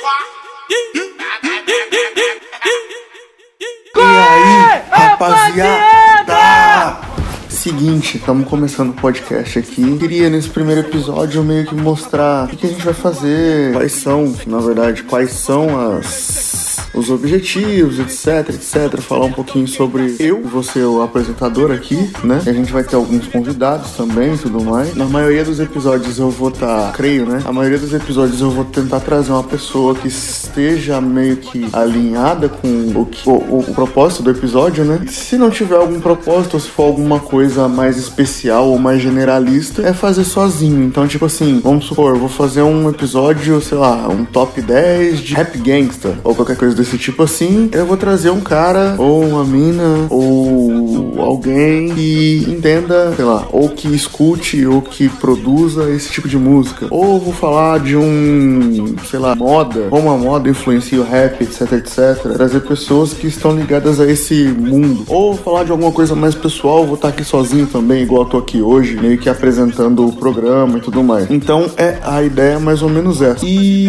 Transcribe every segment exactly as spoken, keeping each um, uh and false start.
E aí, rapaziada? Seguinte, estamos começando o podcast aqui. Queria nesse primeiro episódio meio que mostrar o que, que a gente vai fazer, quais são, na verdade, quais são as... os objetivos, etc, etc, falar um pouquinho sobre eu, vou ser o apresentador aqui, né? A gente vai ter alguns convidados também e tudo mais. Na maioria dos episódios eu vou estar, tá, creio, né? A maioria dos episódios eu vou tentar trazer uma pessoa que esteja meio que alinhada com o, que, o, o, o propósito do episódio, né? Se não tiver algum propósito, ou se for alguma coisa mais especial ou mais generalista, é fazer sozinho. Então, tipo assim, vamos supor, eu vou fazer um episódio, sei lá, um top dez de rap gangsta, ou qualquer coisa desse tipo assim, eu vou trazer um cara, ou uma mina, ou alguém que entenda, sei lá, ou que escute, ou que produza esse tipo de música. Ou vou falar de um, sei lá, moda, como a moda influencia o rap, etc, etc. Trazer pessoas que estão ligadas a esse mundo. Ou falar de alguma coisa mais pessoal, vou estar aqui sozinho também, igual eu tô aqui hoje, meio que apresentando o programa e tudo mais. Então, é a ideia mais ou menos essa.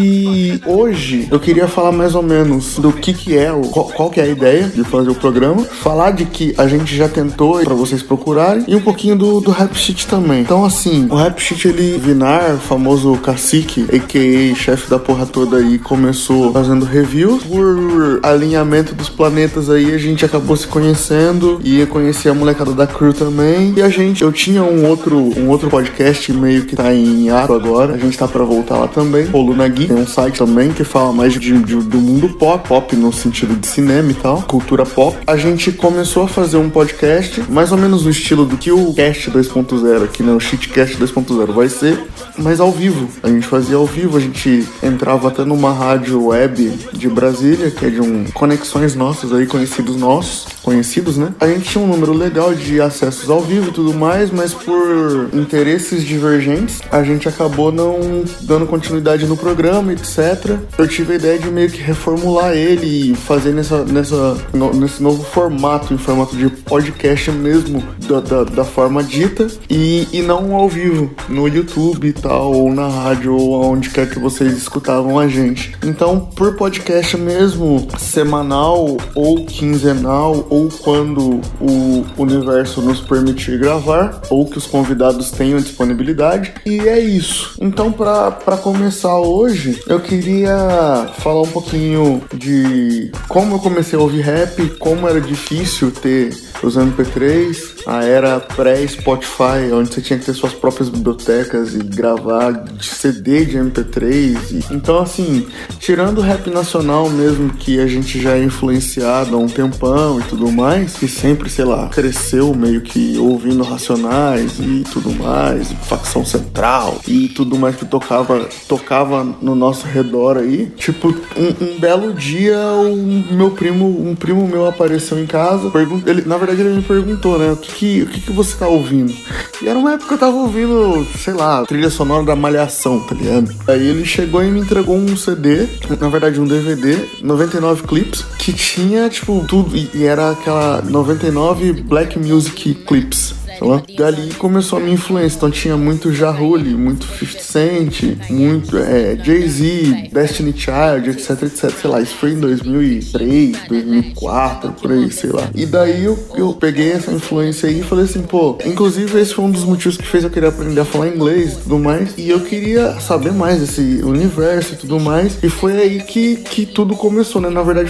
E hoje eu queria falar mais ou menos do que que é, o, qual, qual que é a ideia de fazer o programa, falar de que a gente já tentou pra vocês procurarem e um pouquinho do, do Rap Shit também. Então assim, o Rap Shit, ele, Vinar, famoso cacique, a k a chefe da porra toda aí, começou fazendo reviews. Por alinhamento dos planetas aí, a gente acabou se conhecendo e eu conheci a molecada da crew também. E a gente, eu tinha um outro, um outro podcast meio que tá em ato agora, a gente tá pra voltar lá também, Coluna Geek, tem um site também que fala mais de, de, do mundo pop, pop no sentido de cinema e tal, cultura pop. A gente começou a fazer um podcast, mais ou menos no estilo do que o Cast dois ponto zero aqui, né? O Shitcast dois ponto zero vai ser, mas ao vivo. A gente fazia ao vivo, a gente entrava até numa rádio web de Brasília, que é de um conexões nossas aí, conhecidos nossos, conhecidos, né? A gente tinha um número legal de acessos ao vivo e tudo mais, mas por interesses divergentes, a gente acabou não dando continuidade no programa, etcétera. Eu tive a ideia de meio que reformular ele e fazer nessa, nessa, no, nesse novo formato, em formato de podcast mesmo, da, da, da forma dita, e, e não ao vivo, no YouTube e tal, ou na rádio, ou onde quer que vocês escutavam a gente. Então, por podcast mesmo, semanal ou quinzenal, ou quando o universo nos permitir gravar, ou que os convidados tenham disponibilidade, e é isso. Então, pra, pra começar hoje, eu queria falar um pouquinho de como eu comecei a ouvir rap, como era difícil ter os M P três, a era pré-Spotify, onde você tinha que ter suas próprias bibliotecas e gravar de C D de M P três. E... Então, assim, tirando o rap nacional mesmo, que a gente já é influenciado há um tempão e tudo mais, que sempre, sei lá, cresceu meio que ouvindo Racionais e tudo mais, Facção Central e tudo mais que tocava, tocava no nosso redor aí. Tipo, um, um belo dia, um meu primo, um primo meu apareceu em casa, pergunta, ele, na verdade ele me perguntou, né, o que que, o que que você tá ouvindo? E era uma época que eu tava ouvindo, sei lá, trilha sonora da Malhação, tá ligado? Aí ele chegou e me entregou um C D, na verdade um D V D, noventa e nove clips, que tinha, tipo, tudo, e, e era aquela noventa e nove Black Music Clips. Dali começou a minha influência, então tinha muito Ja Rule, muito fifty Cent, muito é, Jay-Z, Destiny Child, etc, etc, sei lá, isso foi em dois mil e três, dois mil e quatro, por aí, sei lá. E daí eu, eu peguei essa influência aí e falei assim, pô, inclusive esse foi um dos motivos que fez eu querer aprender a falar inglês e tudo mais, e eu queria saber mais desse universo e tudo mais, e foi aí que, que tudo começou, né, na verdade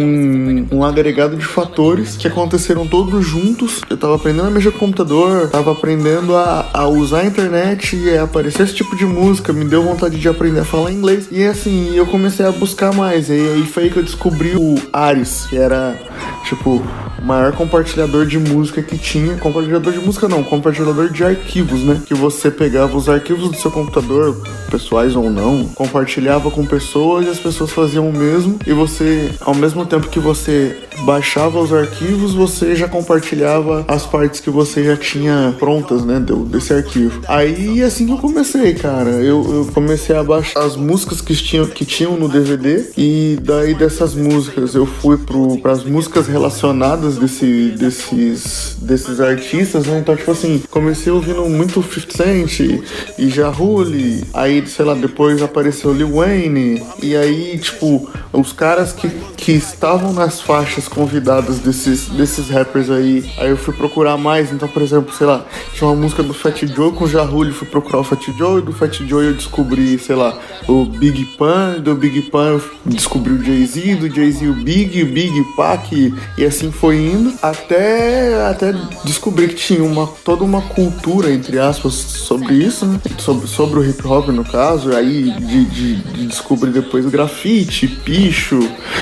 um, um agregado de fatores que aconteceram todos juntos. Eu tava aprendendo a mexer com o computador, tava aprendendo a, a usar a internet e a aparecer esse tipo de música, me deu vontade de aprender a falar inglês. E assim, eu comecei a buscar mais. E aí foi aí que eu descobri o Ares, que era, tipo, o maior compartilhador de música que tinha. Compartilhador de música não, compartilhador de arquivos, né? Que você pegava os arquivos do seu computador, pessoais ou não, compartilhava com pessoas e as pessoas faziam o mesmo. E você, ao mesmo tempo que você baixava os arquivos, você já compartilhava as partes que você já tinha prontas, né, desse arquivo. Aí assim que eu comecei, cara, eu, eu comecei a baixar as músicas que tinham, que tinham no D V D, e daí dessas músicas eu fui para as músicas relacionadas desse, desses, desses artistas, né, então tipo assim, comecei ouvindo muito fifty Cent e Ja Rule, aí sei lá, depois apareceu Lil Wayne, e aí tipo, os caras que, que estavam nas faixas convidadas desses, desses rappers aí, aí eu fui procurar mais, então por exemplo, sei lá, tinha uma música do Fat Joe com Ja Rule, fui procurar o Fat Joe, e do Fat Joe eu descobri, sei lá, o Big Pun, do Big Pun eu descobri o Jay-Z, do Jay-Z o Big, o Big Pac, e assim foi indo, até, até descobrir que tinha uma, toda uma cultura, entre aspas, sobre isso, né? sobre, sobre o hip hop no caso, aí de, de, de descobrir depois o grafite, picho,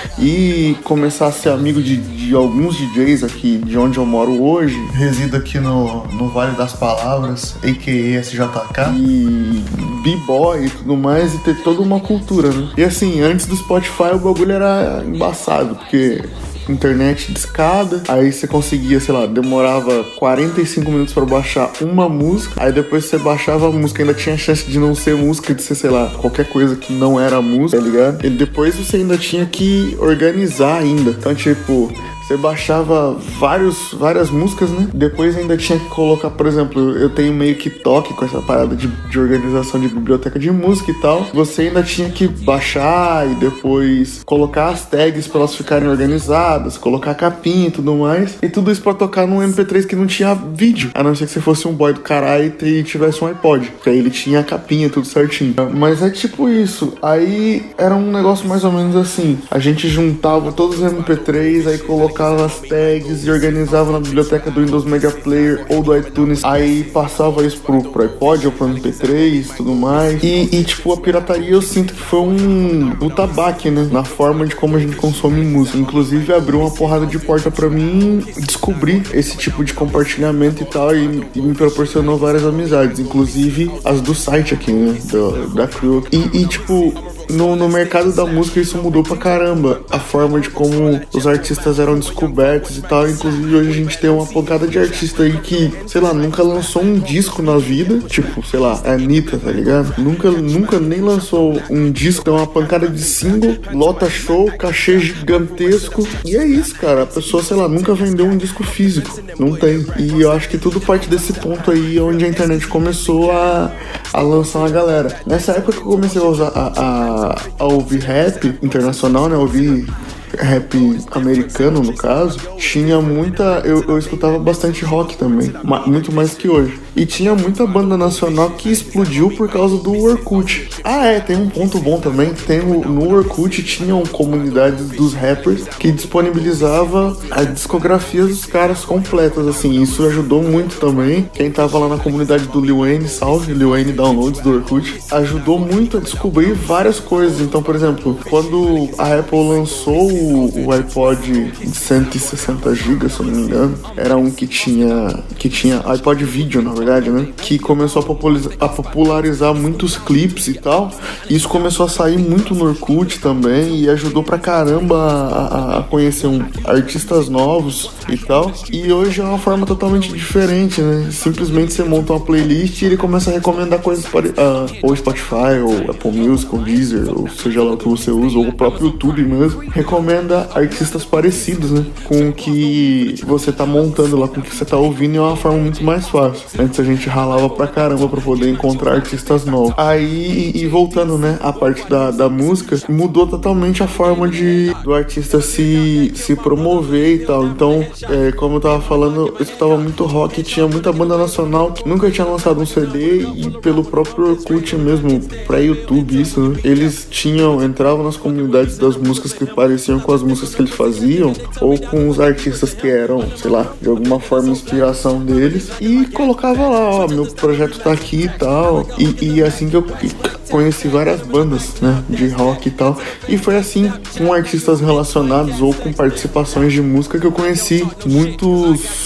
e começar a ser amigo de, de alguns D Js aqui de onde eu moro hoje. Resido aqui no, no Vale das Palavras, a k a. S J K, e b-boy e tudo mais, e ter toda uma cultura, né? E assim, antes do Spotify o bagulho era embaçado, porque internet discada, aí você conseguia, sei lá, demorava quarenta e cinco minutos pra baixar uma música, aí depois você baixava a música, ainda tinha chance de não ser música, de ser, sei lá, qualquer coisa que não era música, tá ligado? E depois você ainda tinha que organizar ainda, então tipo, você baixava vários, várias músicas, né? Depois ainda tinha que colocar, por exemplo, eu tenho meio que toque com essa parada de, de organização de biblioteca de música e tal. Você ainda tinha que baixar e depois colocar as tags pra elas ficarem organizadas, colocar a capinha e tudo mais. E tudo isso pra tocar num M P três que não tinha vídeo, a não ser que você fosse um boy do caralho e tivesse um iPod, que aí ele tinha a capinha tudo certinho. Mas é tipo isso. Aí era um negócio mais ou menos assim. A gente juntava todos os M P três, aí colocava as tags e organizava na biblioteca do Windows Media Player ou do iTunes, aí passava isso pro, pro iPod ou pro M P três e tudo mais, e, e tipo, a pirataria eu sinto que foi um puta baque, né, na forma de como a gente consome música. Inclusive abriu uma porrada de porta pra mim descobrir esse tipo de compartilhamento e tal, e, e me proporcionou várias amizades, inclusive as do site aqui, né, do, da Crew, e, e tipo, No, no mercado da música isso mudou pra caramba, a forma de como os artistas eram descobertos e tal. Inclusive hoje a gente tem uma pancada de artista aí que, sei lá, nunca lançou um disco na vida, tipo, sei lá, a Anitta, tá ligado? Nunca, nunca nem lançou um disco, tem uma pancada de single, lota show, cachê gigantesco, e é isso, cara, a pessoa, sei lá, nunca vendeu um disco físico, não tem. E eu acho que tudo parte desse ponto aí, onde a internet começou a, a lançar uma galera. Nessa época que eu comecei a usar a, a a ouvir rap internacional, né, ouvir rap americano no caso, tinha muita, eu, eu escutava bastante rock também, ma, muito mais que hoje, e tinha muita banda nacional que explodiu por causa do Orkut. Ah é, tem um ponto bom também, tem o, no Orkut tinham comunidades dos rappers que disponibilizava a discografia dos caras completas, assim, isso ajudou muito também. Quem tava lá na comunidade do Lil Wayne, salve Lil Wayne Downloads do Orkut, ajudou muito a descobrir várias coisas. Então, por exemplo, quando a Apple lançou o, o iPod de cento e sessenta gigas, se eu não me engano, era um que tinha que tinha iPod Video, na verdade, né, que começou a popularizar, a popularizar muitos clipes e tal. Isso começou a sair muito no Orkut também e ajudou pra caramba a, a conhecer um, artistas novos e tal. E hoje é uma forma totalmente diferente, né, simplesmente você monta uma playlist e ele começa a recomendar coisas para uh, ou Spotify, ou Apple Music, ou Deezer, ou seja lá o que você usa, ou o próprio YouTube mesmo, recomenda artistas parecidos, né, com o que você tá montando lá, com o que você tá ouvindo, e é uma forma muito mais fácil. Antes a gente ralava pra caramba pra poder encontrar artistas novos. Aí, e voltando, né, a parte da, da música, mudou totalmente a forma de do artista se, se promover e tal. Então, é, como eu tava falando, eu escutava muito rock, tinha muita banda nacional que nunca tinha lançado um C D, e pelo próprio Orkut mesmo, pra YouTube, isso, né, eles tinham, entravam nas comunidades das músicas que pareciam com as músicas que eles faziam, ou com os artistas que eram, sei lá, de alguma forma inspiração deles, e colocava lá, ó, meu projeto tá aqui e tal, e, e assim que eu conheci várias bandas, né, de rock e tal, e foi assim, com artistas relacionados ou com participações de música, que eu conheci muitos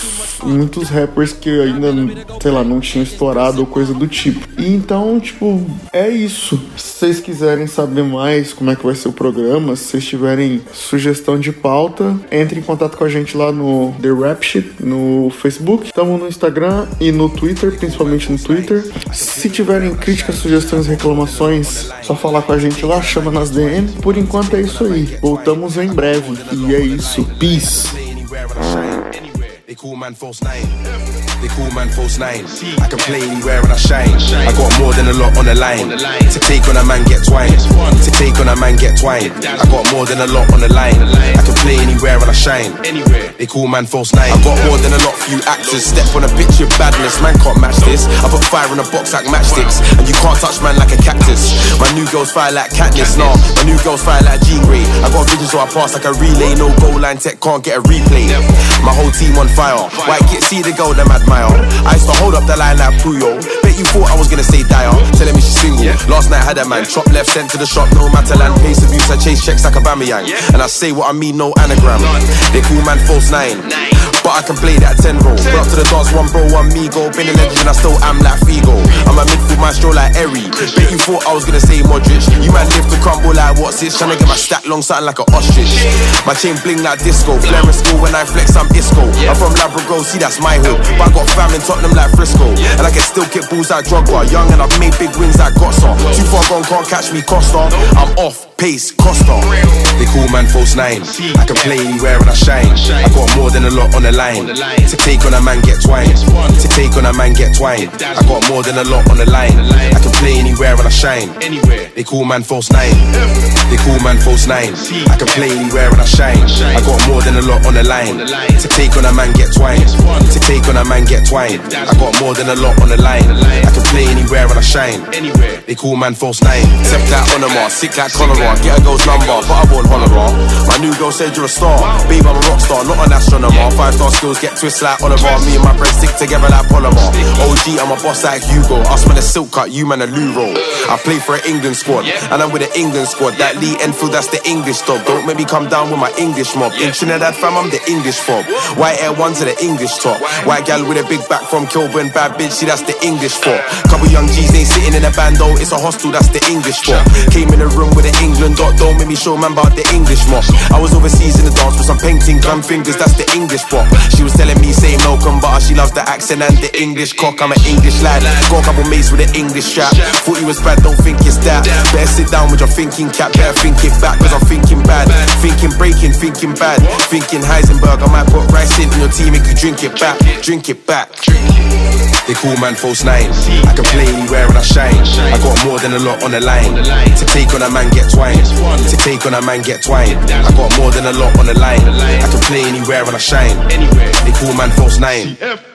muitos rappers que ainda, sei lá, não tinham estourado ou coisa do tipo. E então, tipo, é isso. Se vocês quiserem saber mais como é que vai ser o programa, se vocês tiverem sugestão de pauta, entre em contato com a gente lá no The Rap Shit, no Facebook. Estamos no Instagram e no Twitter, principalmente no Twitter. Se tiverem críticas, sugestões, reclamações, só falar com a gente lá, chama nas D M. Por enquanto é isso aí. Voltamos em breve. E é isso. Peace. They call man false nine. They call man false nine. I can play anywhere and I shine. I got more than a lot on the line. To take on a man, get twined. To take on a man, get twined. I got more than a lot on the line. I can play anywhere and I shine. They call man false nine. I got more than a lot few actors. Step on a pitch of badness, man can't match this. I put fire in a box like matchsticks, and you can't touch man like a cactus. My new girls fire like Katniss, nah. My new girls fire like Jean Grey. I got vision so I pass like a relay. No goal line tech, can't get a replay. My whole team on fire. White kid, see the girl, them admire. I used to hold up the line like Puyo. Bet you thought I was gonna say Dyer. Telling me she's single. Last night had a man chop left, sent to the shop. No matter land, pace abuse. I chase checks like a Bamiyang. And I say what I mean, no anagram. They call man false nine, but I can play that ten roll. Put up to the dance, one bro, one me go. Been a legend and I still am like Figo. I'm a midfield maestro like Eri. Bet you thought I was gonna say Modric. You man live to crumble like what's this? Tryna get my stack long, something like an ostrich. My chain bling like disco. Flare school when I flex, I'm Isco. I'm from Labrador, see that's my hood. But I got fam in Tottenham like Frisco. And I can still kick balls like Drogba. Young and I've made big wins like Gotsa. Too far gone, can't catch me Costa. I'm off, pace, Costa. They call man false nine. I can play anywhere and I shine. I got more than a lot on the line. To take on a man, get twined. To take on a man, get twined. I got more than a lot on the line. I can play anywhere and I shine. They call man false nine. They call man false nine. I can play anywhere and I shine. I got more than a lot on the line. To take on a man, get twined. To take on a man, get twined. I got more than a lot on the line. I can play anywhere and I shine. They call man false nine. Step like Onoma, sick like cholera. Get a girl's number, but I won't holler. My new girl said you're a star. Babe, I'm a rock star, not an astronomer. Five star skills get twist like Oliver. Me and my friends stick together like polymer. O G, I'm a boss like Hugo. Us man a silk cut, you man a Luro. I play for an England squad, and I'm with an England squad. That Lee Enfield, that's the English dog. Don't make me come down with my English mob. In Trinidad fam, I'm the English fob. White Air Ones are the English top. White gal with a big back from Kilburn, bad bitch, see that's the English for. Couple young G's ain't sitting in a bando, it's a hostel, that's the English for. Came in the room with an England dot, don't make me show man about the English mob. I was overseas in the dance with some painting, gun fingers, that's the English pop. She was telling me say Malcolm, but she loves the accent and the English cock. I'm an English lad, got a couple mates with an English strap. Thought he was bad, don't think it's that. Better sit down with your thinking cap, better think it back, cause I'm thinking bad. Thinking breaking, thinking bad. Thinking Heisenberg, I might put rice in your tea, make you drink it back. Drink it back. They call man false nine. I can play anywhere and I shine. I got more than a lot on the line. To take on a man, get twined. To take on a man, get twined. I got more than a lot on the line. I can play anywhere and I shine. They call man false nine.